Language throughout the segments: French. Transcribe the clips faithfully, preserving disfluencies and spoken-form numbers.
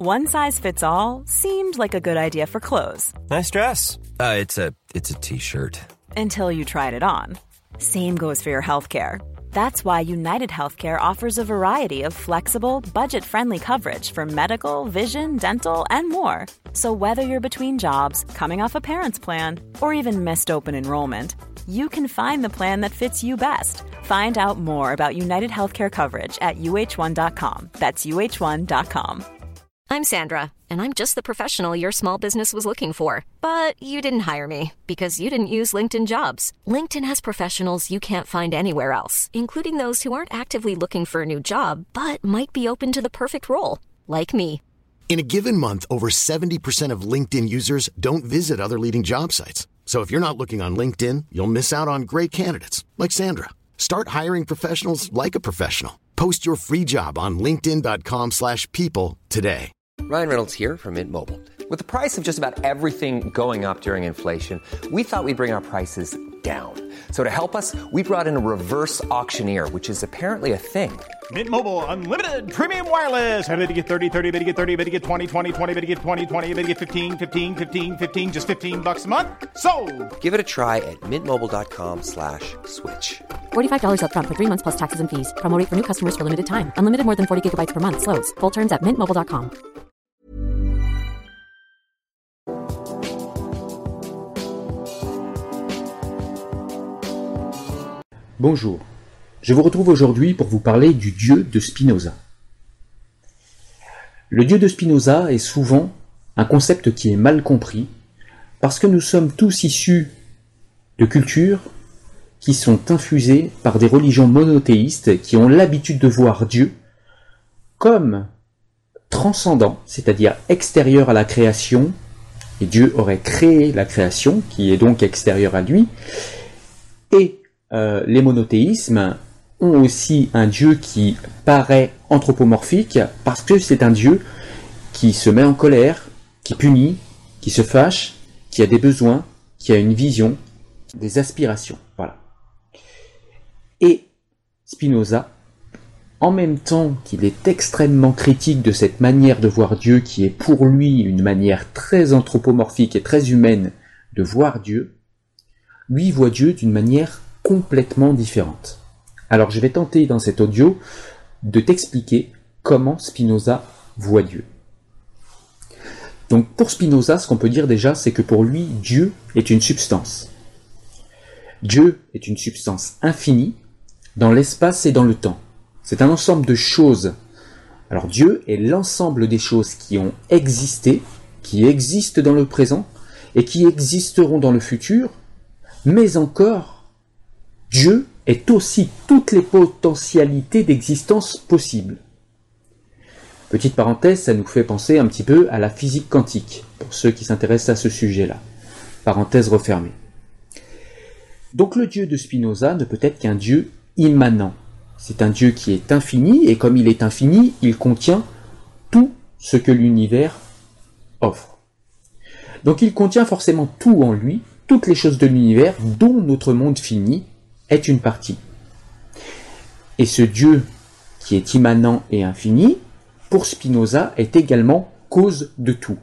One size fits all seemed like a good idea for clothes. Nice dress. Uh, it's a it's a t-shirt. Until you tried it on. Same goes for your healthcare. That's why United Healthcare offers a variety of flexible, budget-friendly coverage for medical, vision, dental, and more. So whether you're between jobs, coming off a parent's plan, or even missed open enrollment, you can find the plan that fits you best. Find out more about United Healthcare coverage at U H one dot com. That's U H one dot com. I'm Sandra, and I'm just the professional your small business was looking for. But you didn't hire me because you didn't use LinkedIn Jobs. LinkedIn has professionals you can't find anywhere else, including those who aren't actively looking for a new job, but might be open to the perfect role, like me. In a given month, over seventy percent of LinkedIn users don't visit other leading job sites. So if you're not looking on LinkedIn, you'll miss out on great candidates like Sandra. Start hiring professionals like a professional. Post your free job on linkedin dot com slash people today. Ryan Reynolds here from Mint Mobile. With the price of just about everything going up during inflation, we thought we'd bring our prices down. So to help us, we brought in a reverse auctioneer, which is apparently a thing. Mint Mobile Unlimited Premium Wireless. How to get thirty, thirty, how to get thirty, how to get twenty, twenty, twenty, how to get twenty, twenty, how to get fifteen, fifteen, fifteen, fifteen, just fifteen bucks a month? Sold! Give it a try at mintmobile.com slash switch. forty-five dollars up front for three months plus taxes and fees. Promo rate for new customers for limited time. Unlimited more than forty gigabytes per month. Slows full terms at mint mobile dot com. Bonjour, je vous retrouve aujourd'hui pour vous parler du Dieu de Spinoza. Le Dieu de Spinoza est souvent un concept qui est mal compris parce que nous sommes tous issus de cultures qui sont infusées par des religions monothéistes qui ont l'habitude de voir Dieu comme transcendant, c'est-à-dire extérieur à la création, et Dieu aurait créé la création qui est donc extérieure à lui, et Euh, les monothéismes ont aussi un Dieu qui paraît anthropomorphique parce que c'est un Dieu qui se met en colère, qui punit, qui se fâche, qui a des besoins, qui a une vision, des aspirations. Voilà. Et Spinoza, en même temps qu'il est extrêmement critique de cette manière de voir Dieu qui est pour lui une manière très anthropomorphique et très humaine de voir Dieu, lui voit Dieu d'une manière complètement différente. Alors je vais tenter dans cet audio de t'expliquer comment Spinoza voit Dieu. Donc pour Spinoza, ce qu'on peut dire déjà, c'est que pour lui, Dieu est une substance. Dieu est une substance infinie dans l'espace et dans le temps. C'est un ensemble de choses. Alors Dieu est l'ensemble des choses qui ont existé, qui existent dans le présent et qui existeront dans le futur, mais encore Dieu est aussi toutes les potentialités d'existence possibles. Petite parenthèse, ça nous fait penser un petit peu à la physique quantique, pour ceux qui s'intéressent à ce sujet-là. Parenthèse refermée. Donc le Dieu de Spinoza ne peut être qu'un Dieu immanent. C'est un Dieu qui est infini, et comme il est infini, il contient tout ce que l'univers offre. Donc il contient forcément tout en lui, toutes les choses de l'univers, dont notre monde fini est une partie. Et ce Dieu qui est immanent et infini, pour Spinoza, est également cause de tout.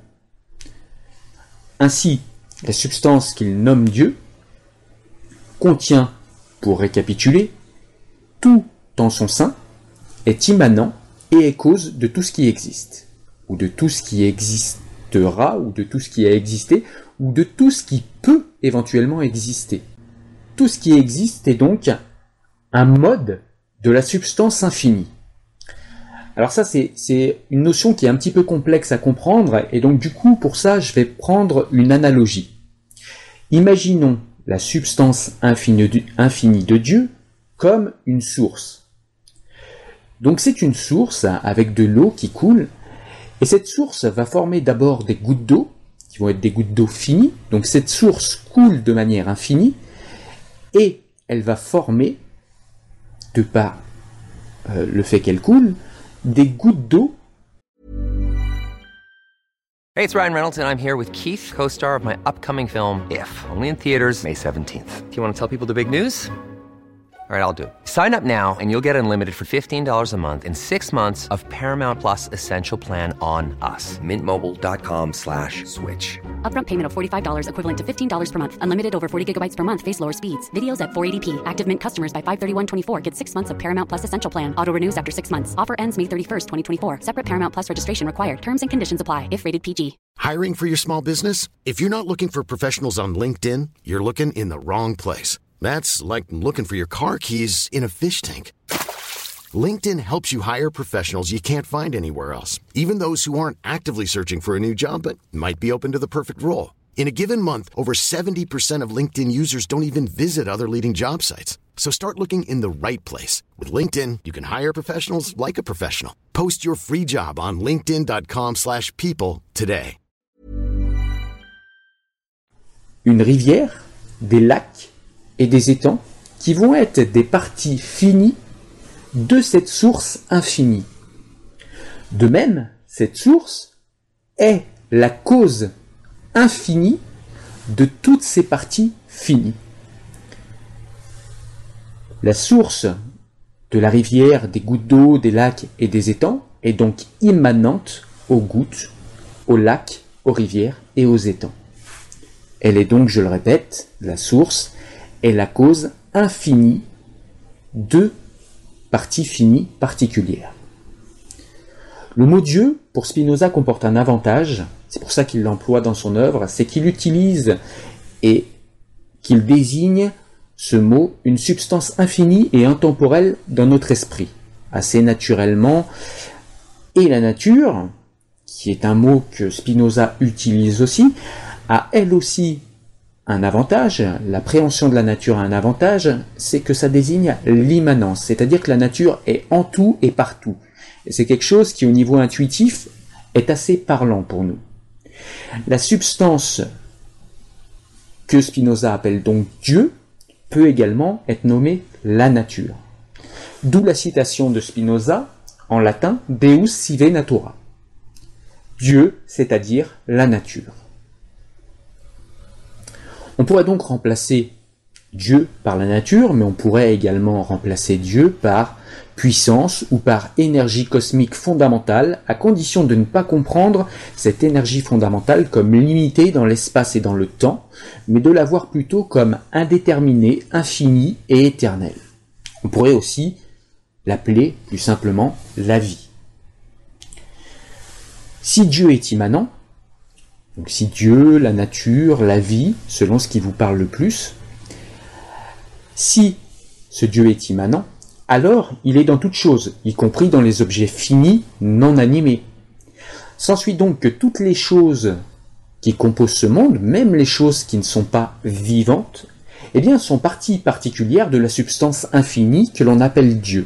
Ainsi, la substance qu'il nomme Dieu contient, pour récapituler, tout en son sein, est immanent et est cause de tout ce qui existe, ou de tout ce qui existera, ou de tout ce qui a existé, ou de tout ce qui peut éventuellement exister. Tout ce qui existe est donc un mode de la substance infinie. Alors ça, c'est, c'est une notion qui est un petit peu complexe à comprendre, et donc du coup, pour ça, je vais prendre une analogie. Imaginons la substance infinie, infinie de Dieu comme une source. Donc c'est une source avec de l'eau qui coule, et cette source va former d'abord des gouttes d'eau, qui vont être des gouttes d'eau finies, donc cette source coule de manière infinie, et elle va former, de par euh, le fait qu'elle coule, des gouttes d'eau. Hey, it's Ryan Reynolds, and I'm here with Keith, co-star of my upcoming film, If, only in theaters May seventeenth. Do you want to tell people the big news? All right, I'll do it. Sign up now and you'll get unlimited for fifteen dollars a month and six months of Paramount Plus Essential Plan on us. Mint Mobile dot com slash switch. Upfront payment of forty-five dollars equivalent to fifteen dollars per month. Unlimited over forty gigabytes per month. Face lower speeds. Videos at four eighty p. Active Mint customers by five thirty-one twenty-four get six months of Paramount Plus Essential Plan. Auto renews after six months. Offer ends May thirty-first, twenty twenty-four. Separate Paramount Plus registration required. Terms and conditions apply if rated P G. Hiring for your small business? If you're not looking for professionals on LinkedIn, you're looking in the wrong place. That's like looking for your car keys in a fish tank. LinkedIn helps you hire professionals you can't find anywhere else, even those who aren't actively searching for a new job but might be open to the perfect role. In a given month, over seventy percent of LinkedIn users don't even visit other leading job sites. So start looking in the right place. With LinkedIn, you can hire professionals like a professional. Post your free job on linkedin dot com slash people today. Une rivière, des lacs et des étangs qui vont être des parties finies de cette source infinie. De même, cette source est la cause infinie de toutes ces parties finies. La source de la rivière, des gouttes d'eau, des lacs et des étangs est donc immanente aux gouttes, aux lacs, aux rivières et aux étangs. Elle est donc, je le répète, la source est la cause infinie de parties finies particulières. Le mot Dieu, pour Spinoza, comporte un avantage, c'est pour ça qu'il l'emploie dans son œuvre, c'est qu'il utilise et qu'il désigne ce mot une substance infinie et intemporelle dans notre esprit, assez naturellement. Et la nature, qui est un mot que Spinoza utilise aussi, a elle aussi un avantage. L'appréhension de la nature a un avantage, c'est que ça désigne l'immanence, c'est-à-dire que la nature est en tout et partout. Et c'est quelque chose qui, au niveau intuitif, est assez parlant pour nous. La substance que Spinoza appelle donc Dieu peut également être nommée la nature. D'où la citation de Spinoza, en latin, Deus sive natura. Dieu, c'est-à-dire la nature. On pourrait donc remplacer Dieu par la nature, mais on pourrait également remplacer Dieu par puissance ou par énergie cosmique fondamentale, à condition de ne pas comprendre cette énergie fondamentale comme limitée dans l'espace et dans le temps, mais de la voir plutôt comme indéterminée, infinie et éternelle. On pourrait aussi l'appeler plus simplement la vie. Si Dieu est immanent, donc si Dieu, la nature, la vie, selon ce qui vous parle le plus, si ce Dieu est immanent, alors il est dans toutes choses, y compris dans les objets finis, non animés. S'ensuit donc que toutes les choses qui composent ce monde, même les choses qui ne sont pas vivantes, eh bien, sont partie particulière de la substance infinie que l'on appelle Dieu.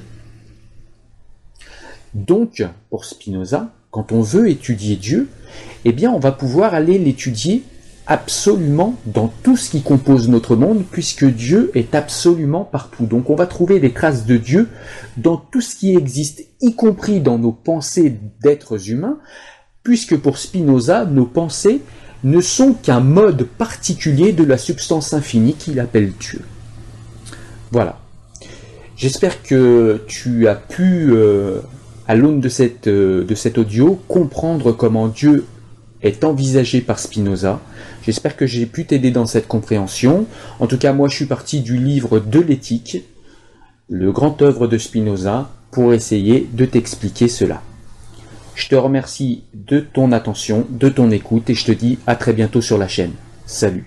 Donc, pour Spinoza, quand on veut étudier Dieu, eh bien, on va pouvoir aller l'étudier absolument dans tout ce qui compose notre monde, puisque Dieu est absolument partout. Donc on va trouver des traces de Dieu dans tout ce qui existe, y compris dans nos pensées d'êtres humains, puisque pour Spinoza, nos pensées ne sont qu'un mode particulier de la substance infinie qu'il appelle Dieu. Voilà. J'espère que tu as pu, euh, à l'aune de, cette, euh, de cet audio, comprendre comment Dieu est envisagé par Spinoza. J'espère que j'ai pu t'aider dans cette compréhension. En tout cas, moi, je suis parti du livre de l'éthique, le grand œuvre de Spinoza, pour essayer de t'expliquer cela. Je te remercie de ton attention, de ton écoute, et je te dis à très bientôt sur la chaîne. Salut.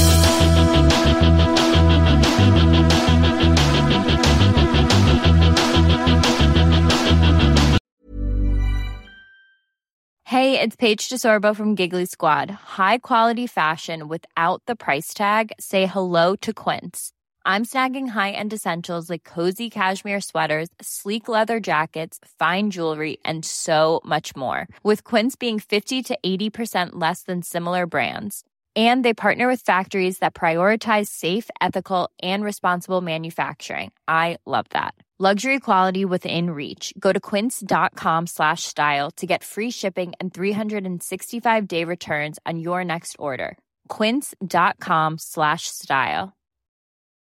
Hey, it's Paige DeSorbo from Giggly Squad. High quality fashion without the price tag. Say hello to Quince. I'm snagging high-end essentials like cozy cashmere sweaters, sleek leather jackets, fine jewelry, and so much more. With Quince being fifty to eighty percent less than similar brands. And they partner with factories that prioritize safe, ethical, and responsible manufacturing. I love that. Luxury quality within reach. Go to quince.com slash style to get free shipping and three sixty-five day returns on your next order. Quince.com slash style.